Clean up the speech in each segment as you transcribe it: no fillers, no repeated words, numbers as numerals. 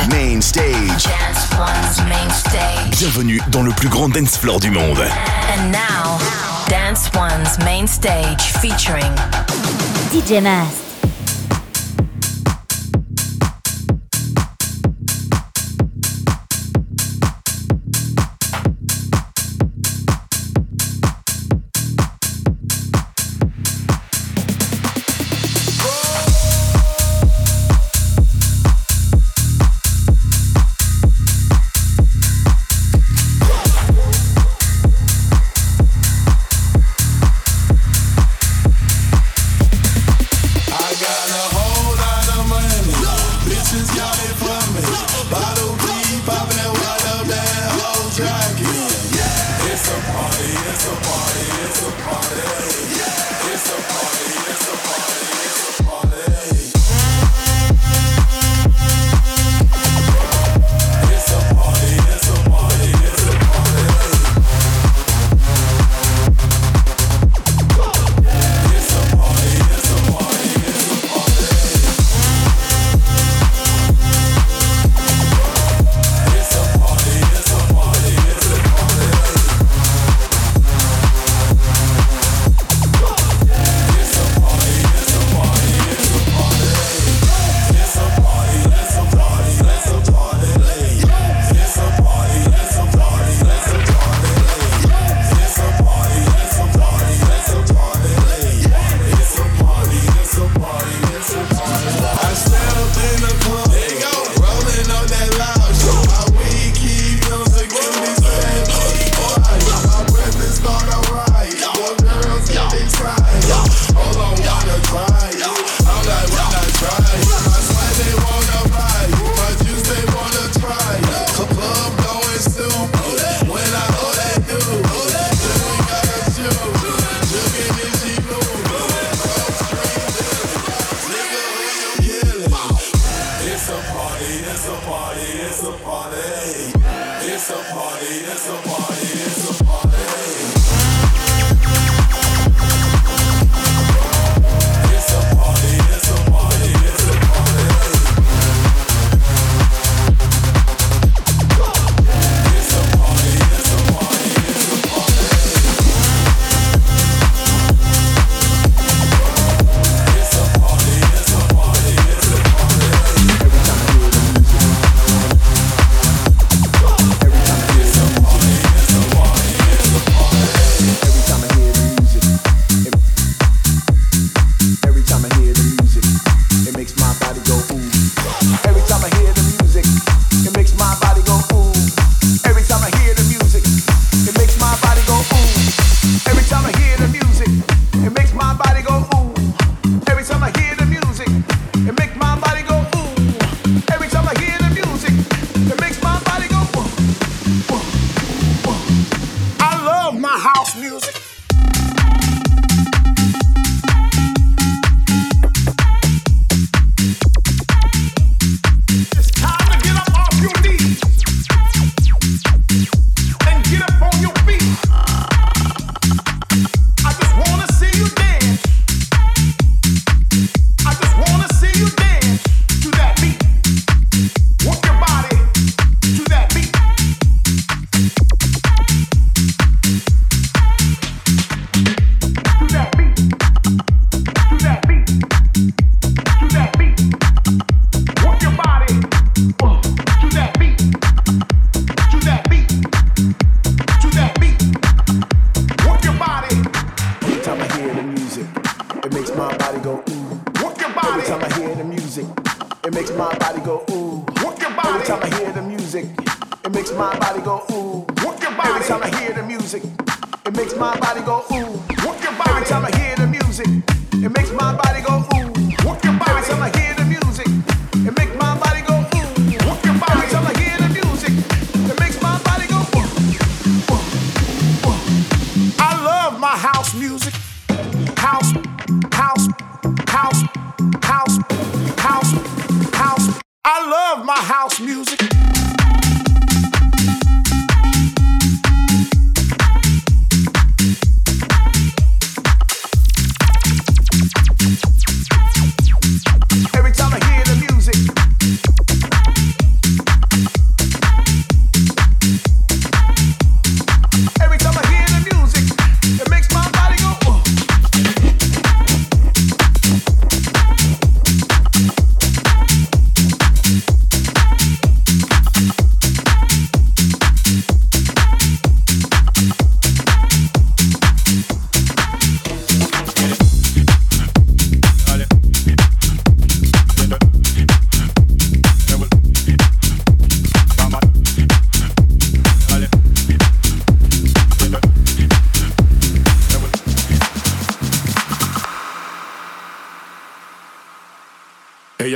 Main Stage. Dance One's Main Stage. Bienvenue dans le plus grand dance floor du monde. And now, Dance One's Main Stage featuring DJ Mast.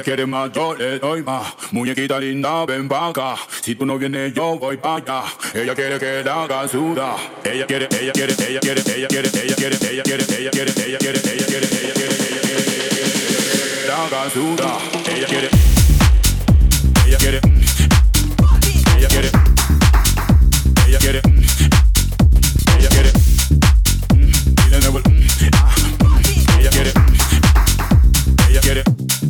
quiere más, yo le doy más. Muñequita linda, ven pa' acá. Si tú no vienes, yo voy pa' allá. Ella quiere que la haga suda. Ella quiere, ella quiere, ella quiere, ella quiere, ella quiere, ella quiere, ella quiere, ella quiere, ella quiere, ella quiere, la haga suda. Ella quiere, ella quiere, ella quiere, ella quiere, ella quiere, y de nuevo, ella quiere, ella quiere.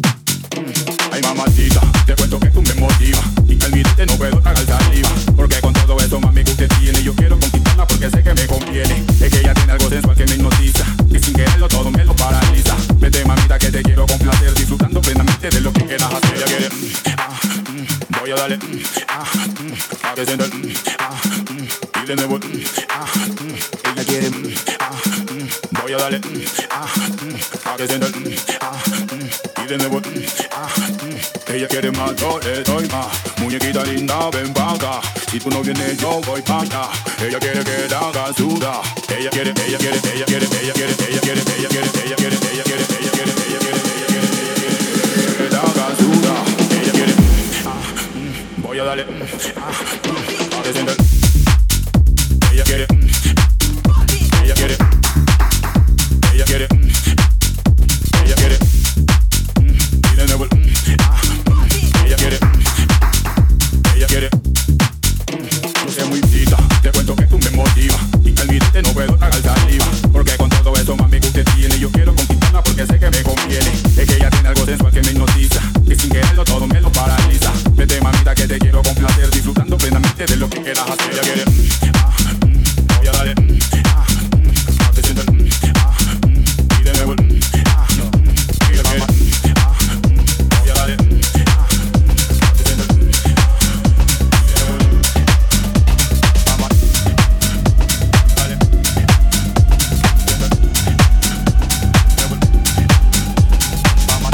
Ay mamacita, te cuento que tú me motivas y que al mirarte no puedo tragar saliva. Porque con todo eso mami que usted tiene, yo quiero conquistarla porque sé que me conviene. Es que ella tiene algo sensual que me hipnotiza y sin quererlo todo me lo paraliza. Vete mamita que te quiero complacer, disfrutando plenamente de lo que quieras hacer. Ella quiere, voy a darle, a que sienta, y de nuevo, ella quiere, voy a darle, a que sienta, y de nuevo, ella quiere más, yo le doy más. Muñequita linda, ven pa' acá. Si tú no vienes, yo voy pa' allá. Ella quiere que la haga suda. Ella quiere, ella quiere, ella quiere, ella quiere, ella quiere, ella quiere, ella quiere, ella quiere, ella quiere, ella quiere, que la haga suda. Ella quiere, voy a darle, a que sienta. Ella quiere, ella quiere, ella quiere, ella quiere, y de nuevo, ella quiere, ella quiere. No sé muy cita, te cuento que tú me motivas y que al mirarte no puedo tragar saliva. Porque con todo eso mami que usted tiene, yo quiero conquistarla porque sé que me conviene. Es que ella tiene algo sensual que me hipnotiza y sin quererlo todo me lo paraliza. Vete mamita que te quiero complacer, disfrutando plenamente de lo que quieras hacer. Ella quiere, voy a darle, a que sienta, y de nuevo, ella quiere, voy a darle, a que sienta, y de nuevo, vamos, dale, sienta, de nuevo, vamos,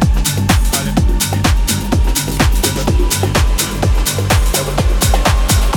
dale, sienta, de nuevo,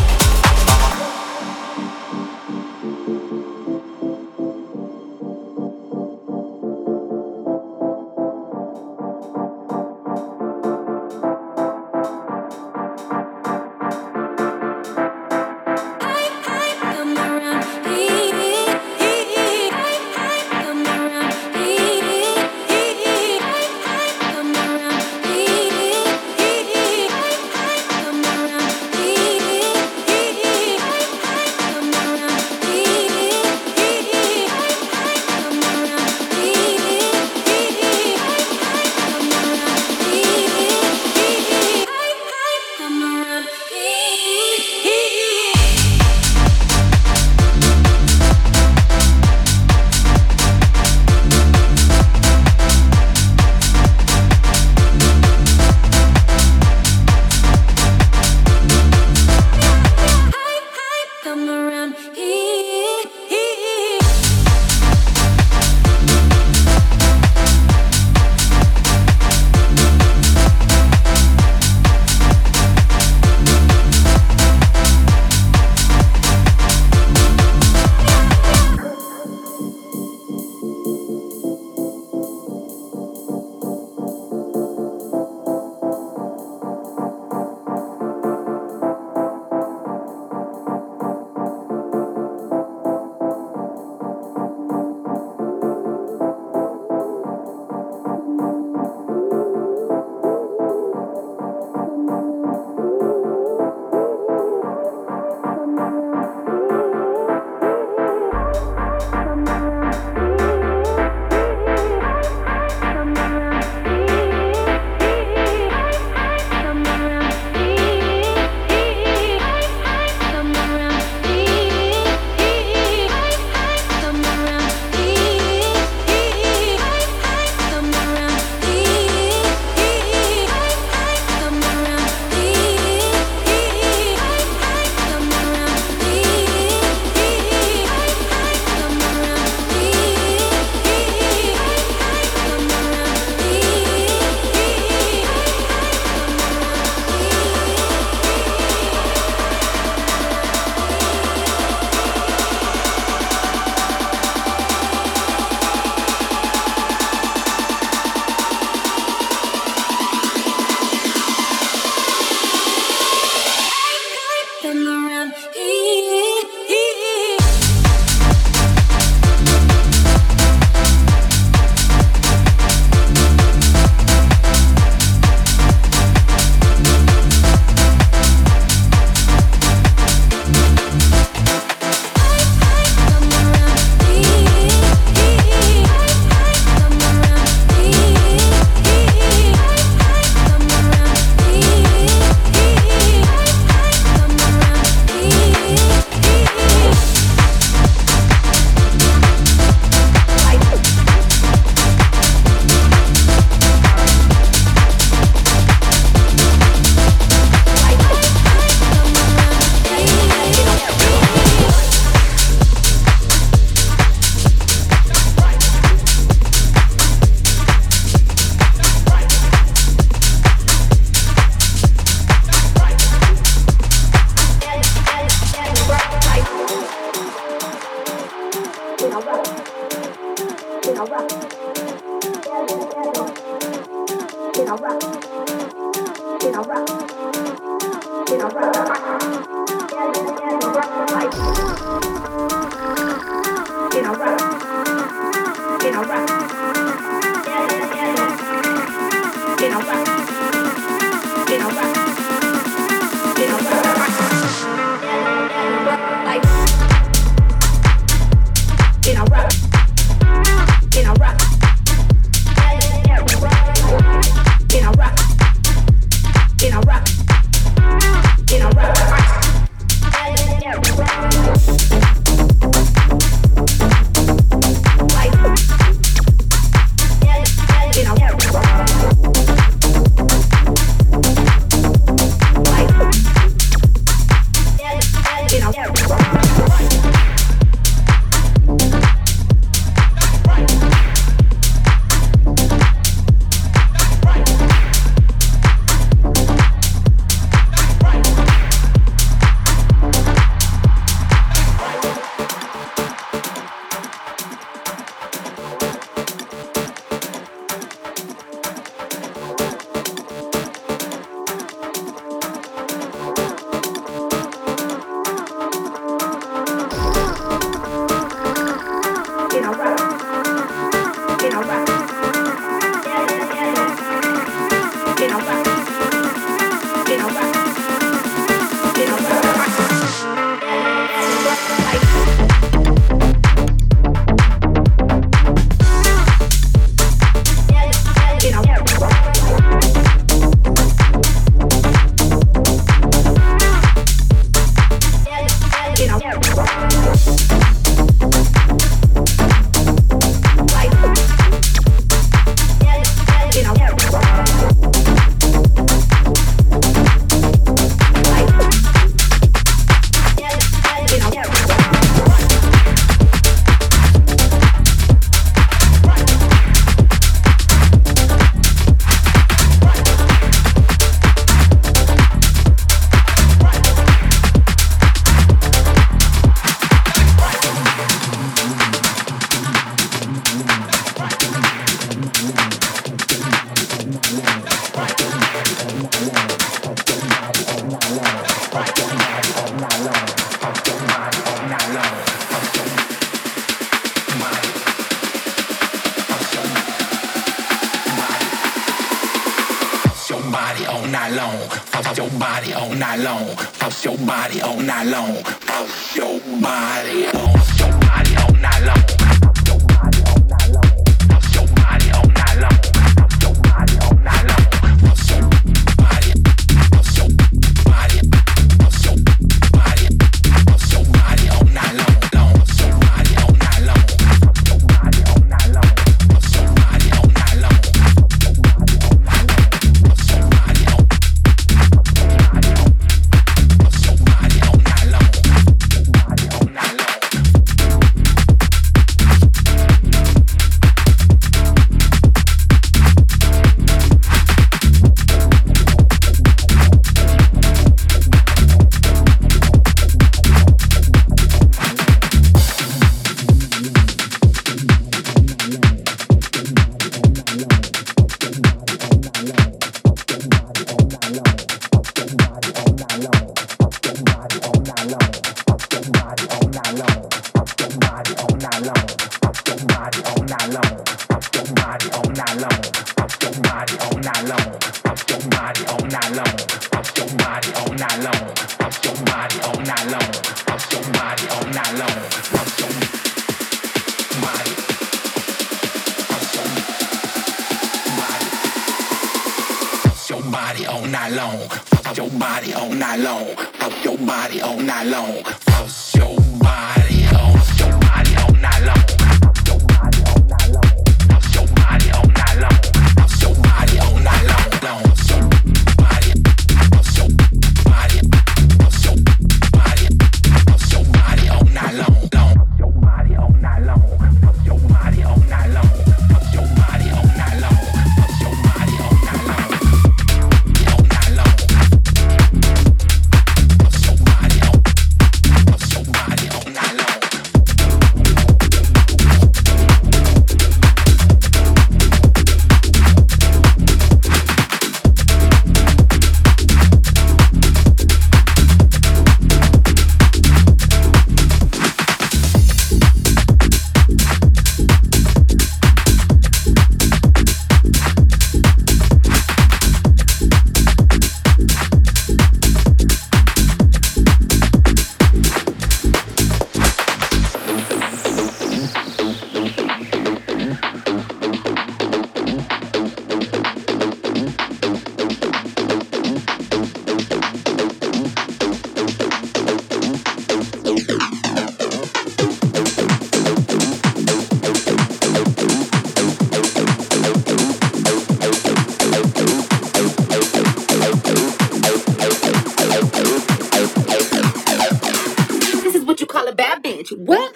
What?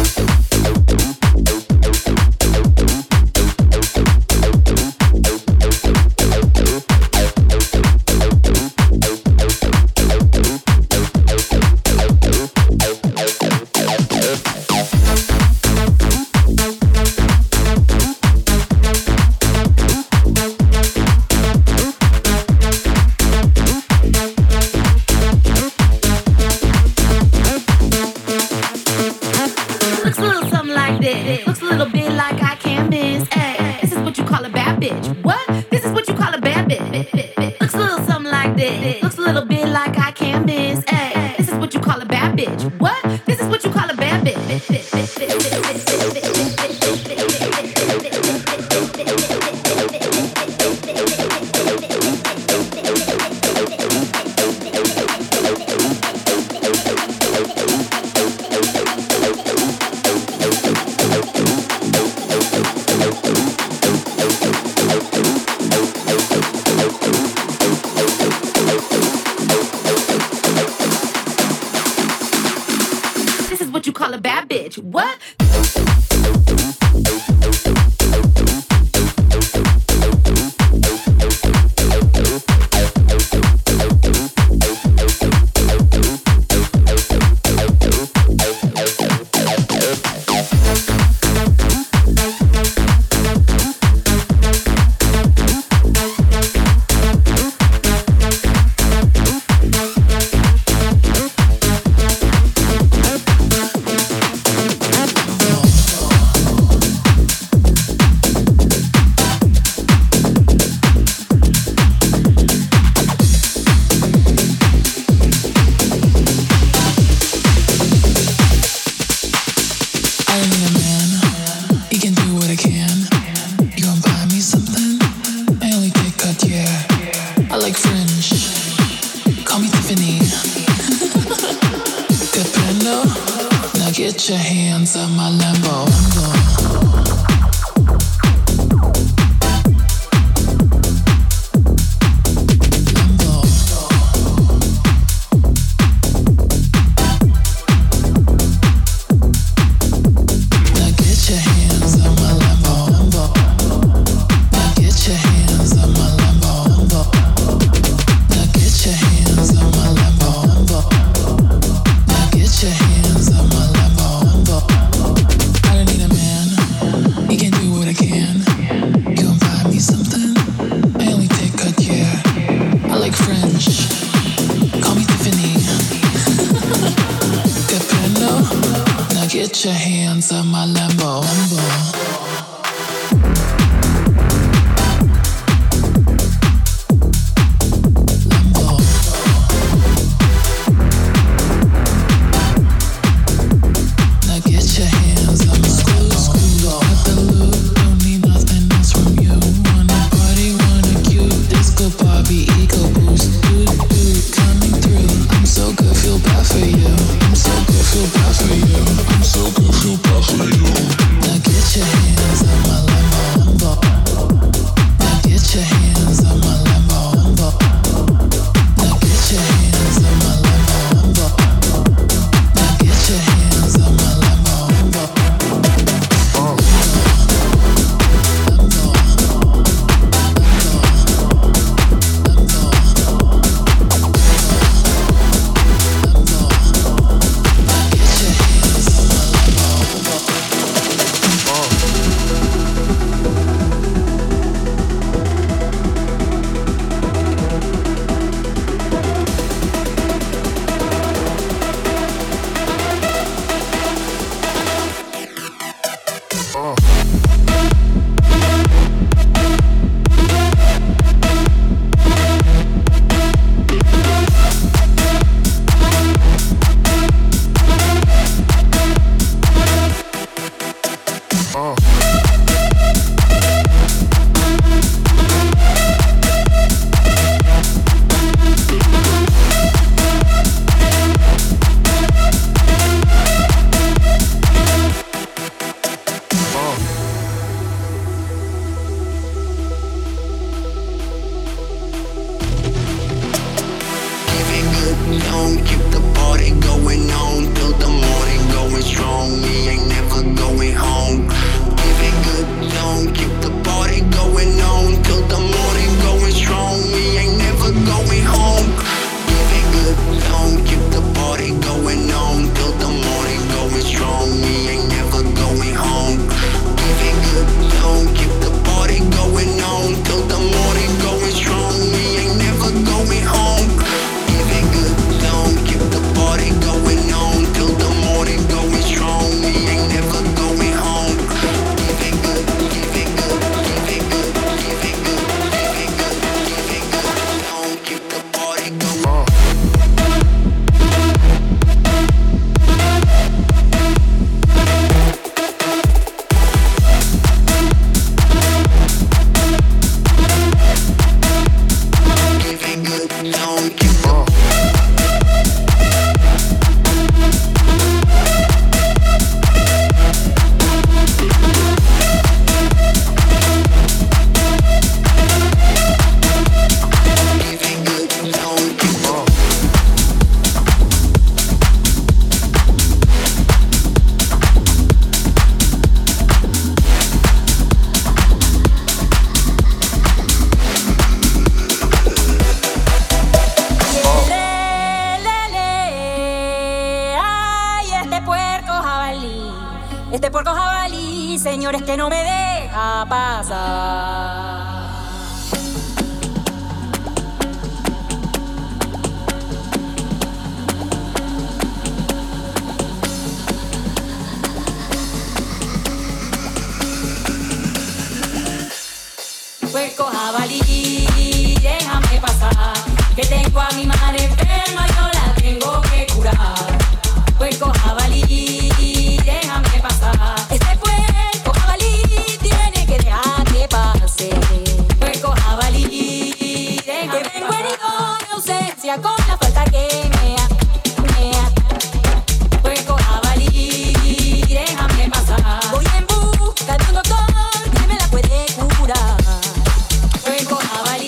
Get your hands on my Lambo. Get your hands on my Lambo. zone. Keep the party going on till the morning, going strong. We ain't never going home. Give it good zone. Keep the party going on till the morning, going strong. We ain't never going home. Give it good zone. Keep the party going on till the morning, going strong. We ain't never going home. Give it good zone. Keep the party going on till the morning, going strong. We ain't never going home. Give it good zone. Keep the party going on till the morning, going strong. We ain't never going home. Give it good, give it good, give it good, give it good, give it good, give it good zone. Keep the party going on. Señores, que no me deja pasar. Puerco jabalí, déjame pasar, que tengo a mi madre enferma y no la tengo que curar. Puerco jabalí, déjame pasar. Este puerco jabalí tiene que dejar que pase. Puerco jabalí, déjame pasar. Que vengo herido de ausencia con la falta que me hace. Puerco jabalí, déjame pasar. Voy en busca de un doctor que me la puede curar. Puerco jabalí.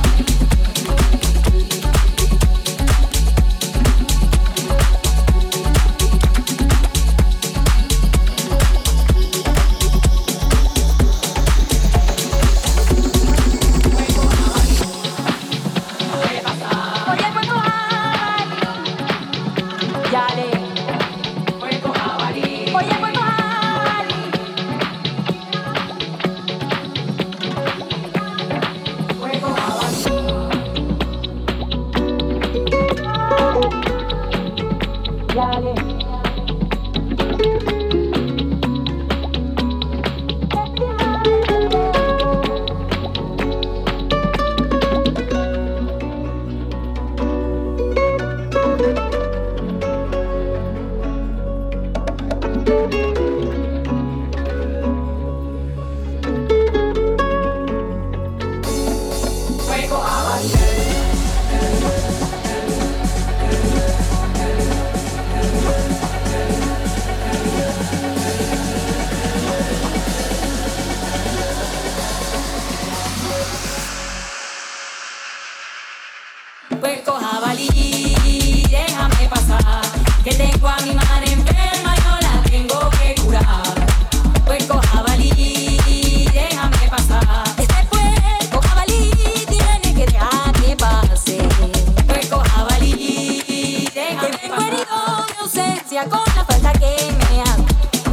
Puerco jabalí, déjame pasar, que tengo a mi madre enferma y no la tengo que curar. Puerco jabalí, déjame pasar. Este puerco jabalí tiene que dejar que pase. Puerco jabalí, déjame pasar. Que vengo herido de ausencia con la falta que me hace.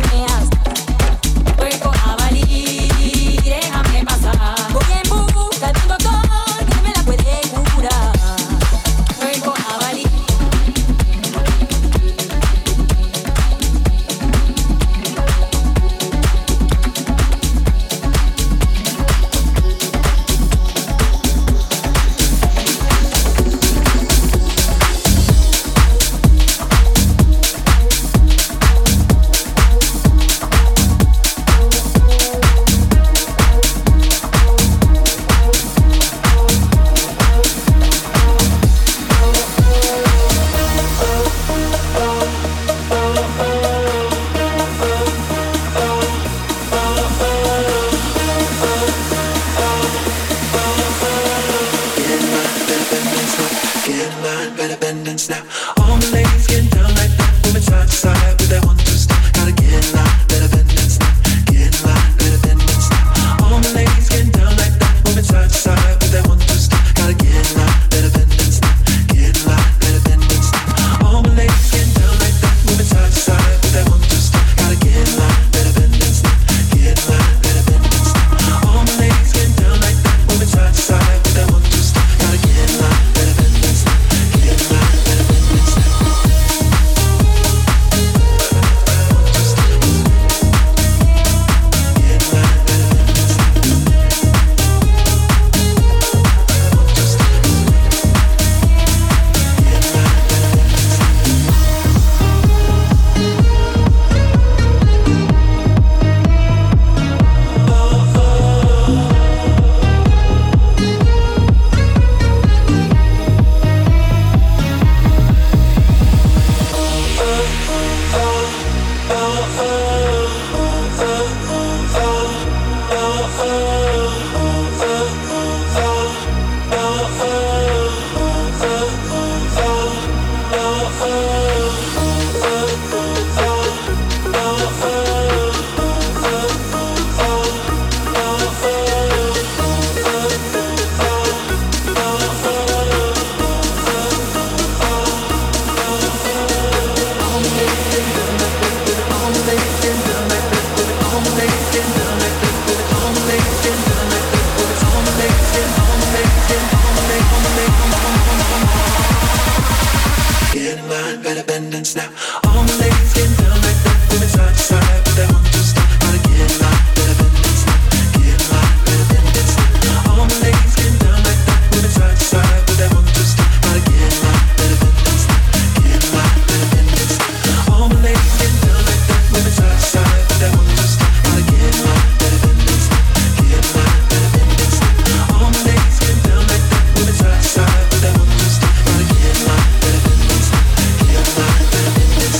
Puerco jabalí, déjame pasar. Voy en busca de un doctor que me la puede curar. Puerco jabalí. Get in line, better bend and snap. All the ladies getting down like that, moving side to side with that 1, 2 step. Gotta get in line, better bend and snap. Get in line, better bend and snap. All the ladies getting down like that, moving side to side with that 1, 2 step. Gotta get in line, better bend and snap. Get in line, better bend and snap. All the ladies getting down like that, moving side to side with that 1, 2 step. Gotta get in line, better bend and snap. Get in line, better bend and snap. All the ladies getting down like that, moving side to side with that 1, 2 step. Gotta get in line, better bend and snap. Get in line, better bend and snap. Get in line, better bend and snap. All the ladies getting down like that, moving side to side with that 1, 2 step. Gotta get in line, better bend and snap. Get in line, better bend and snap. All the ladies getting down like that, moving side to side with that 1, 2 step. Gotta get in line, better bend and snap. Get in line, better bend and snap. All the ladies getting down like that, moving side to side with that 1, 2 step. Gotta get in line, better bend and snap. Get in line, better bend and snap. All the ladies getting down like that, moving side to side with that 1, 2 step. Gotta get in line, better bend and snap. Get in line, better bend and snap.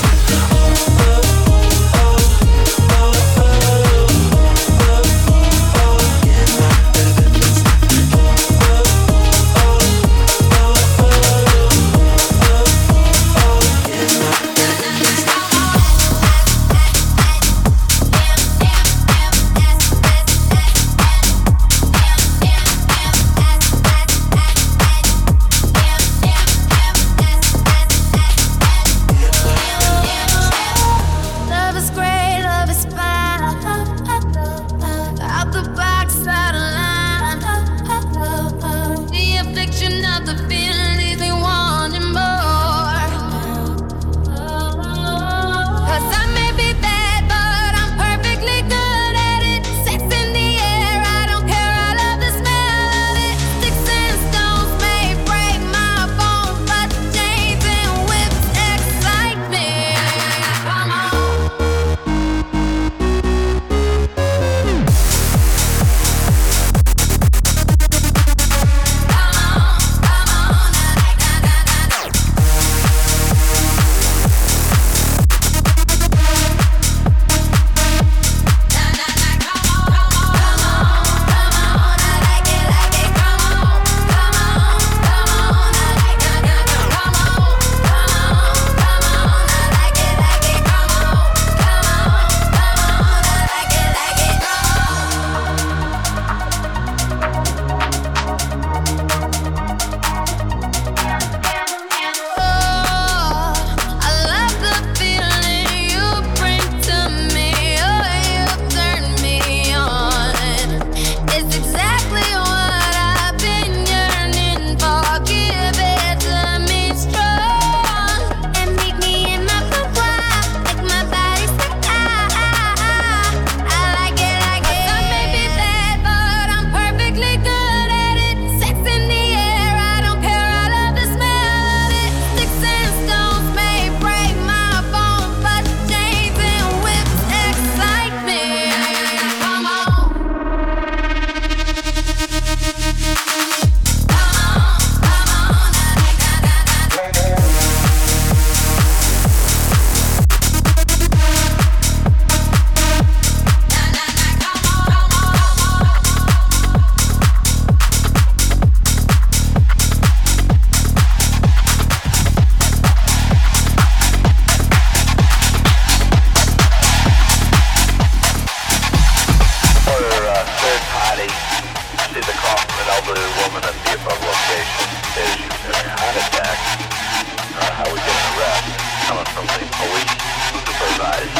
How we get an arrest coming from the police supervised.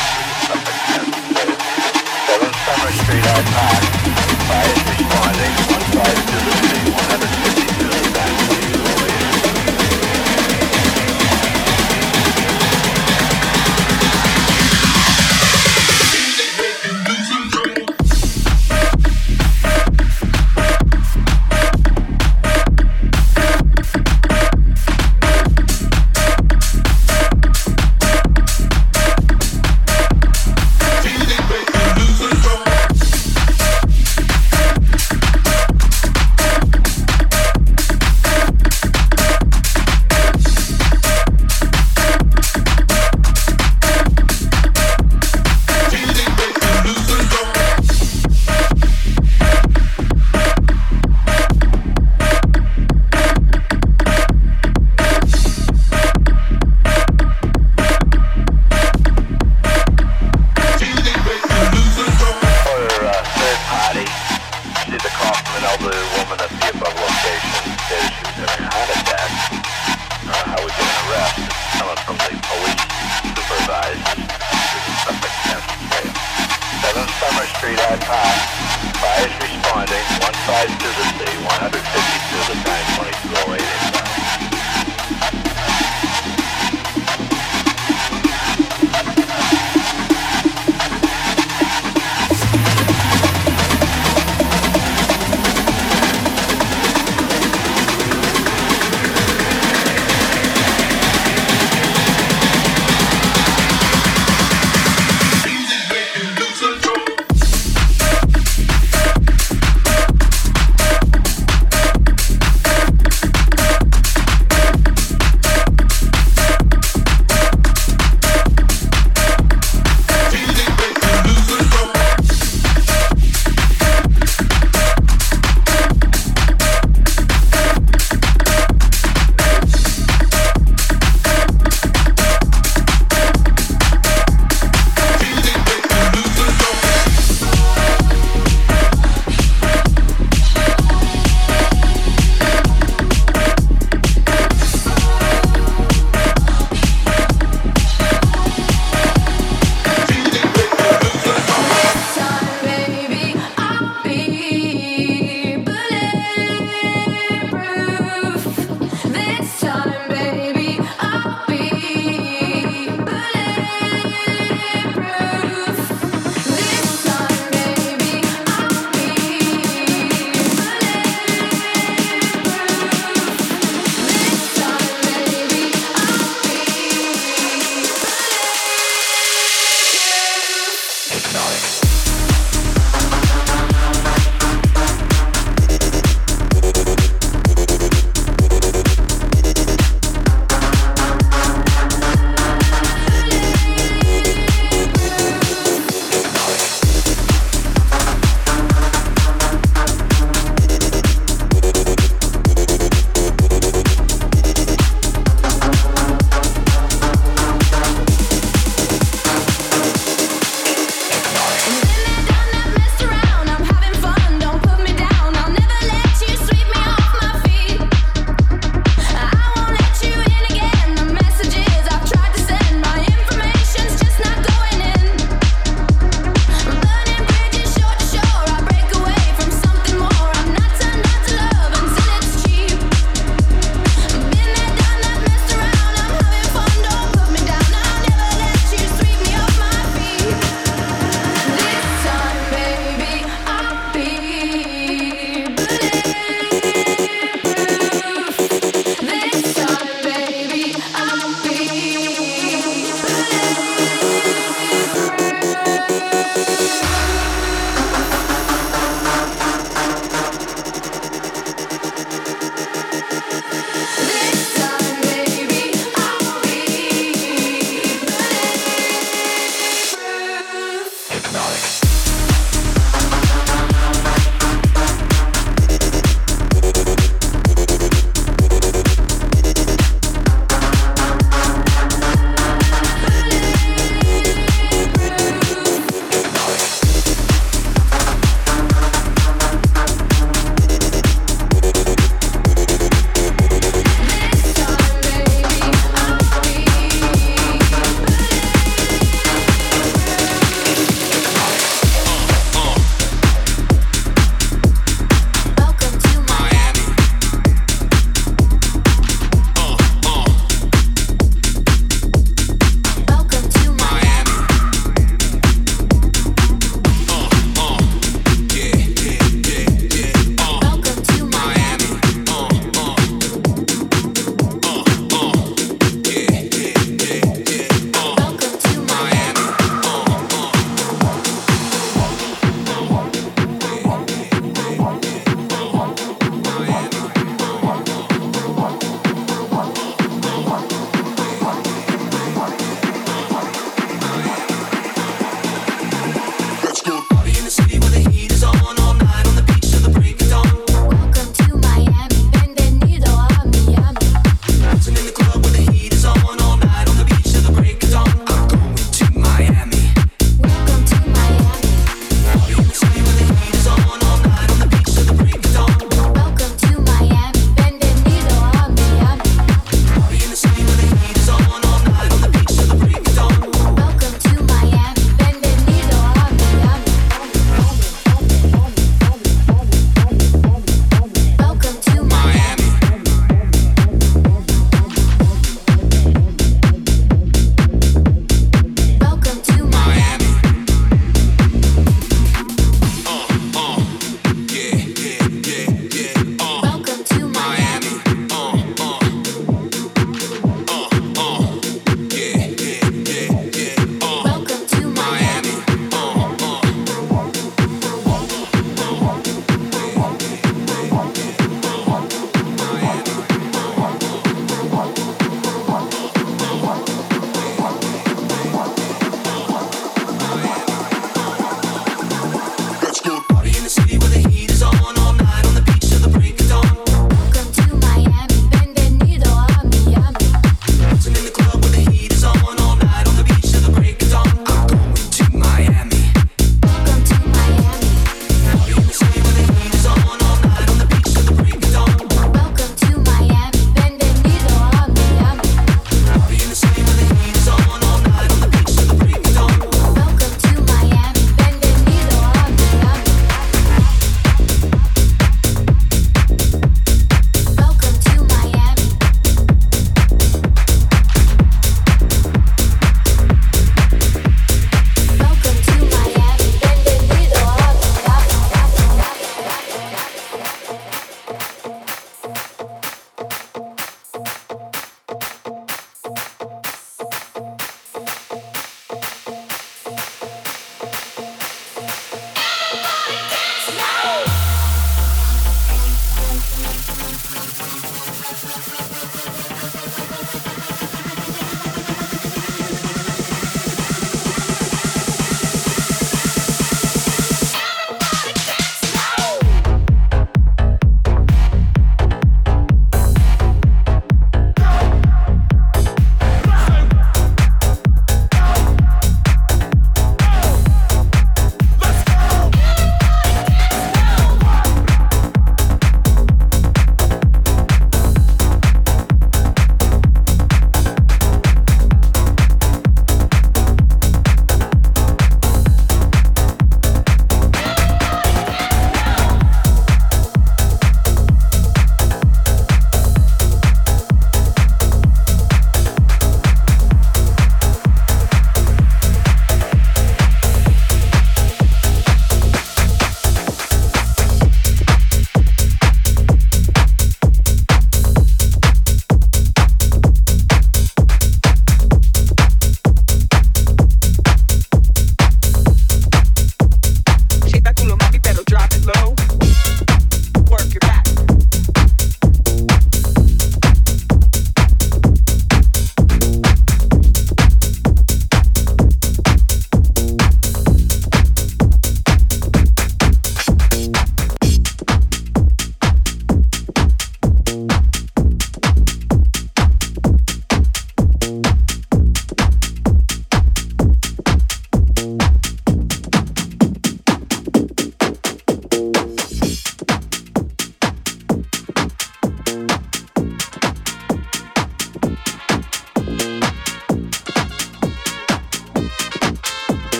7 Summer Street, I-5. Fire is responding. 15 to the city, 150 to the back.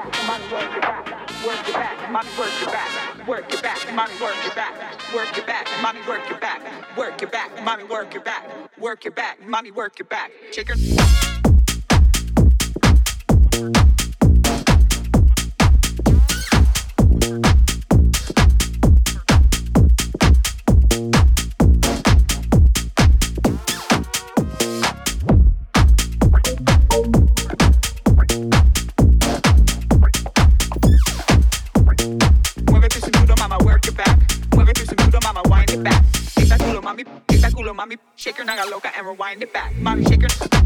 mommy work it back, work it back, mommy work it back, work it back, mommy work it back, work it back, mommy work it back, work it back, mommy work it back, work it back, mommy work it back, shake her. Mommy, shake your naga loca and rewind it back. Mommy, shake your.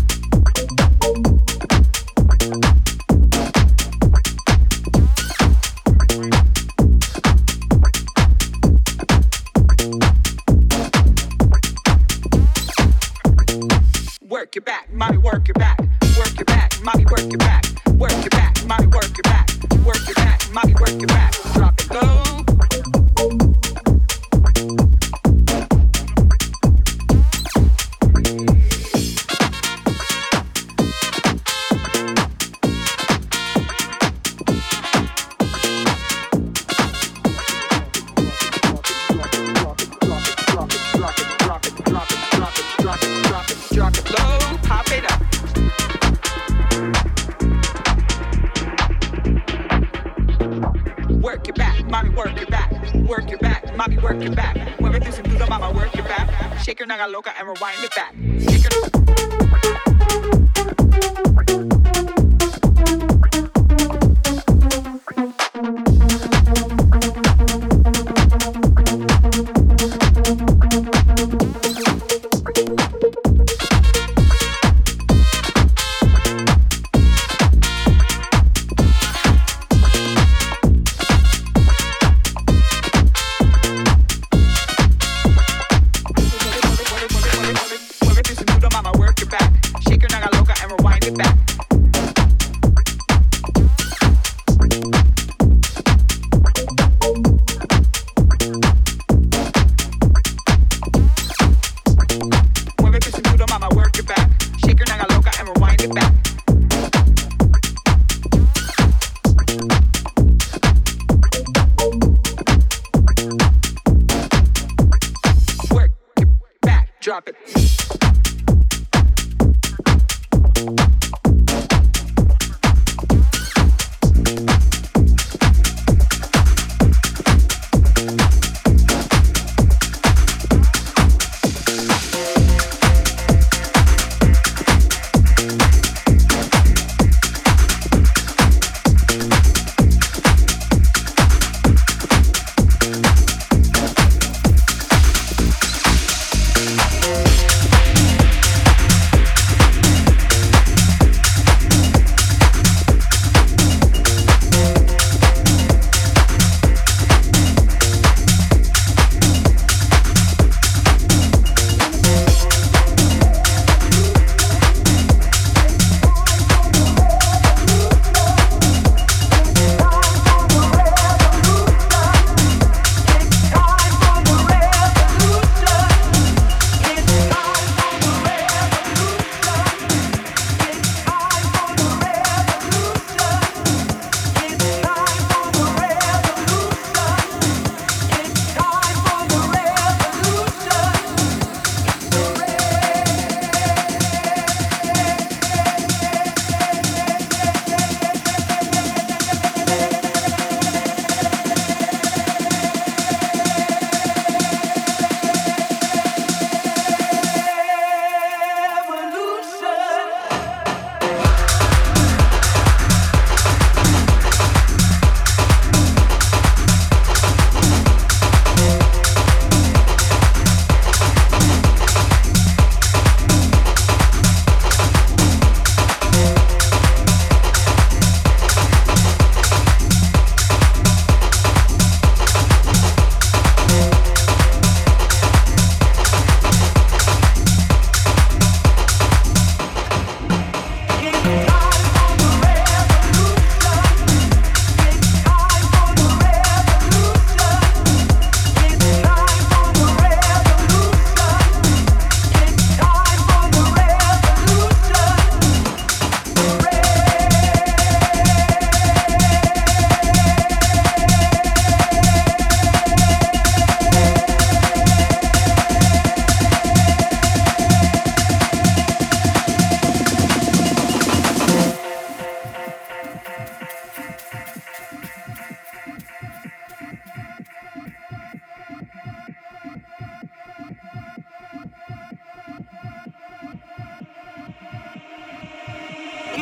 Work it back, mommy, work it back. Work it back, mommy, work it back. Work it back, mommy, work it back. Work it back, mommy, work it back. Drop it low. Shake your naga loca and rewind it back. Shake your. Drop it.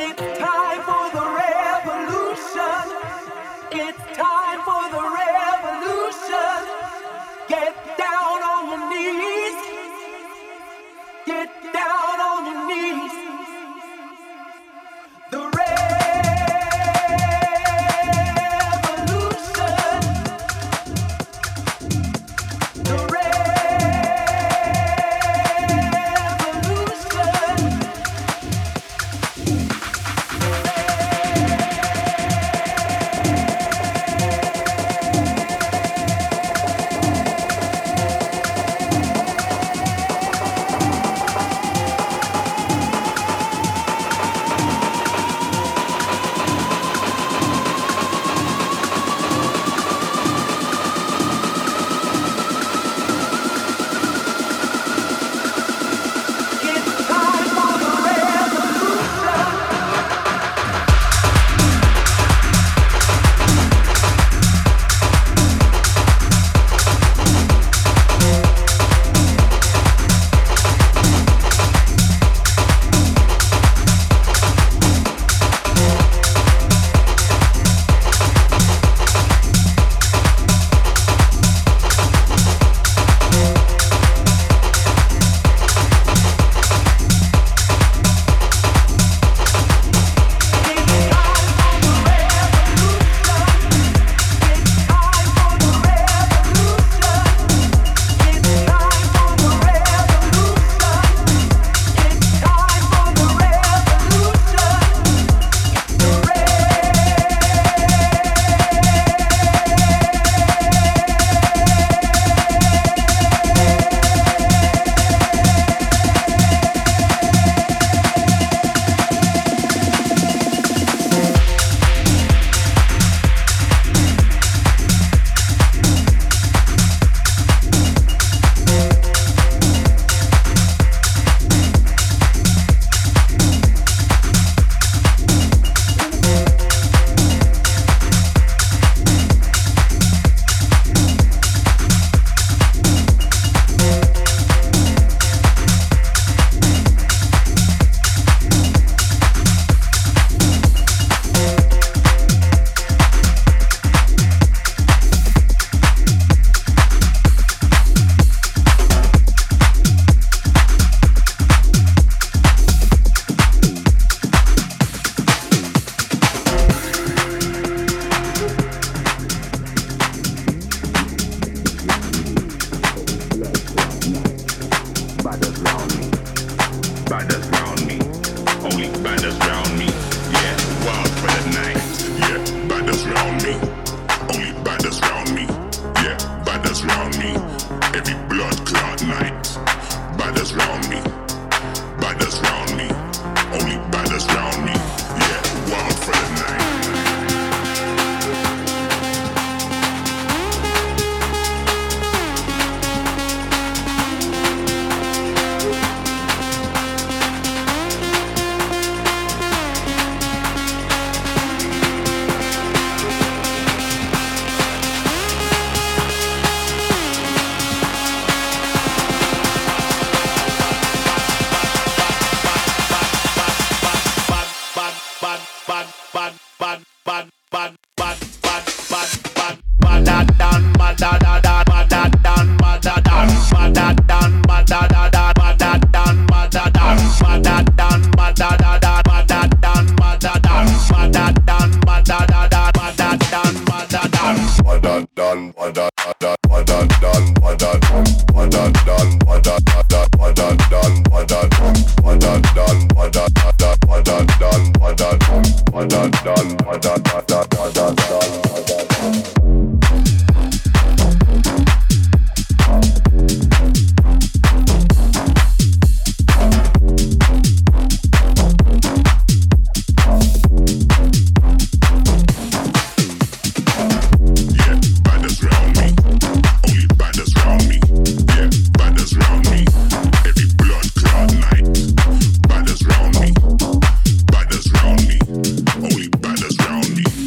Only baddest round me.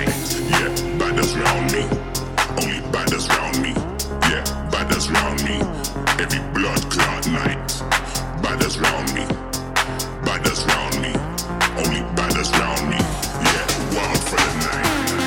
night. Yeah, badders round me. Only badders round me. Yeah, badders round me. Every blood clot night. Badders round me. Badders round me. Only badders round me. Yeah, wild for the night.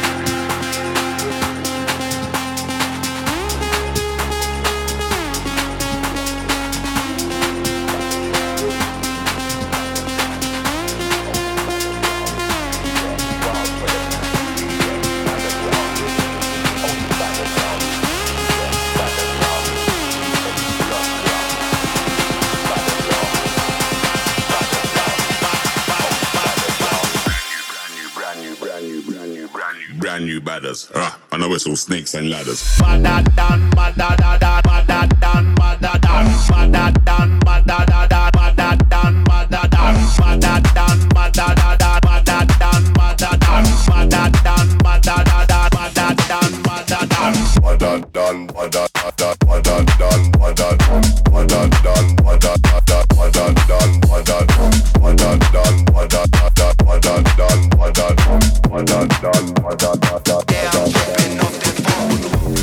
Brand new badders. I know it's all snakes and ladders. Badadan, badadada, badadan, badadan, badadan, badadada, badadan, badadan, badadan, badadada, badadan, badadan, badadan, badadada, badadan, badadan, badadan, badadada, badadan, badadan, badadan, badadan, badadan, badadan, yeah, I'm tripping off that phone.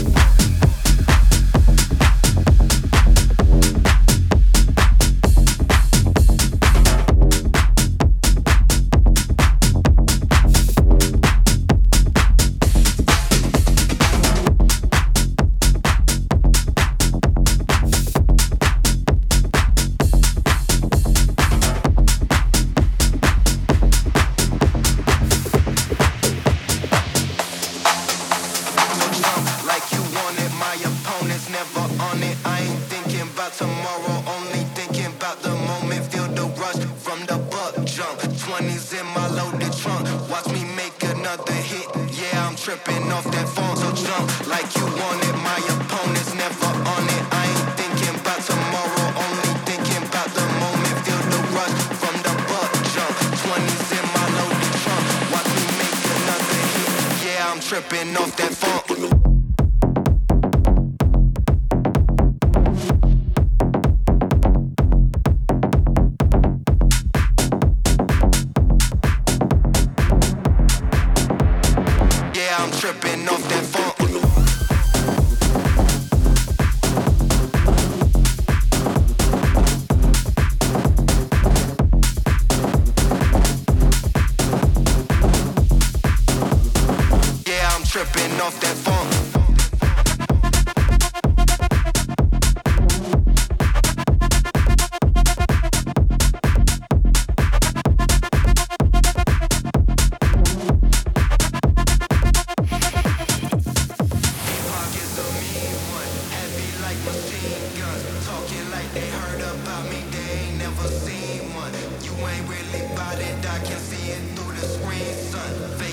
Tripping off that funk. Yeah, I'm tripping off that funk. Tripping off that funk.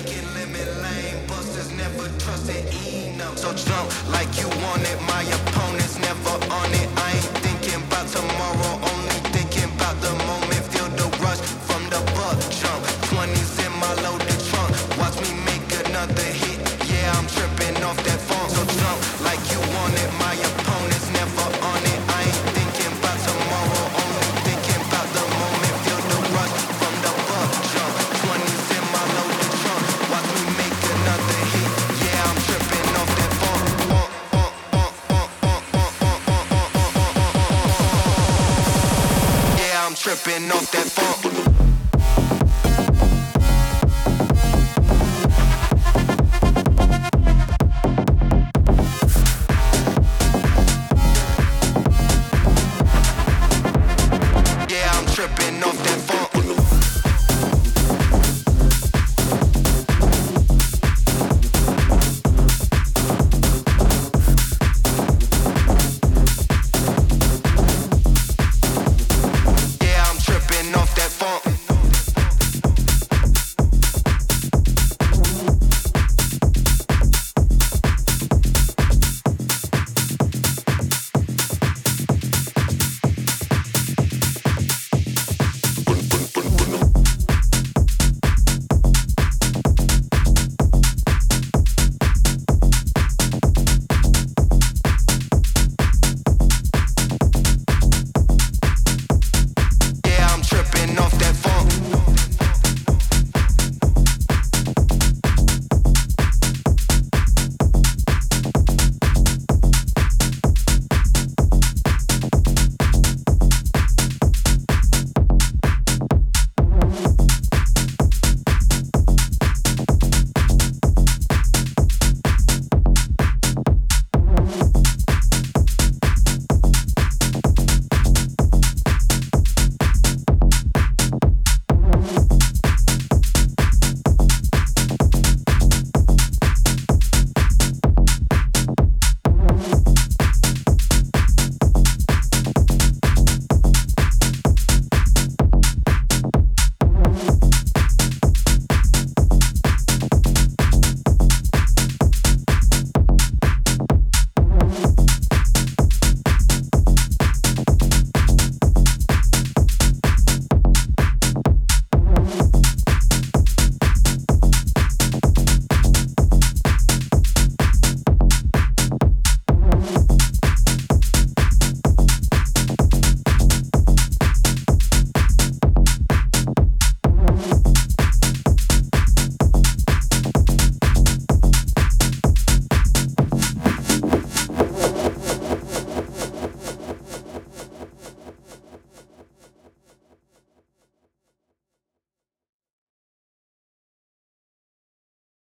So jump like you wanted, my opponent.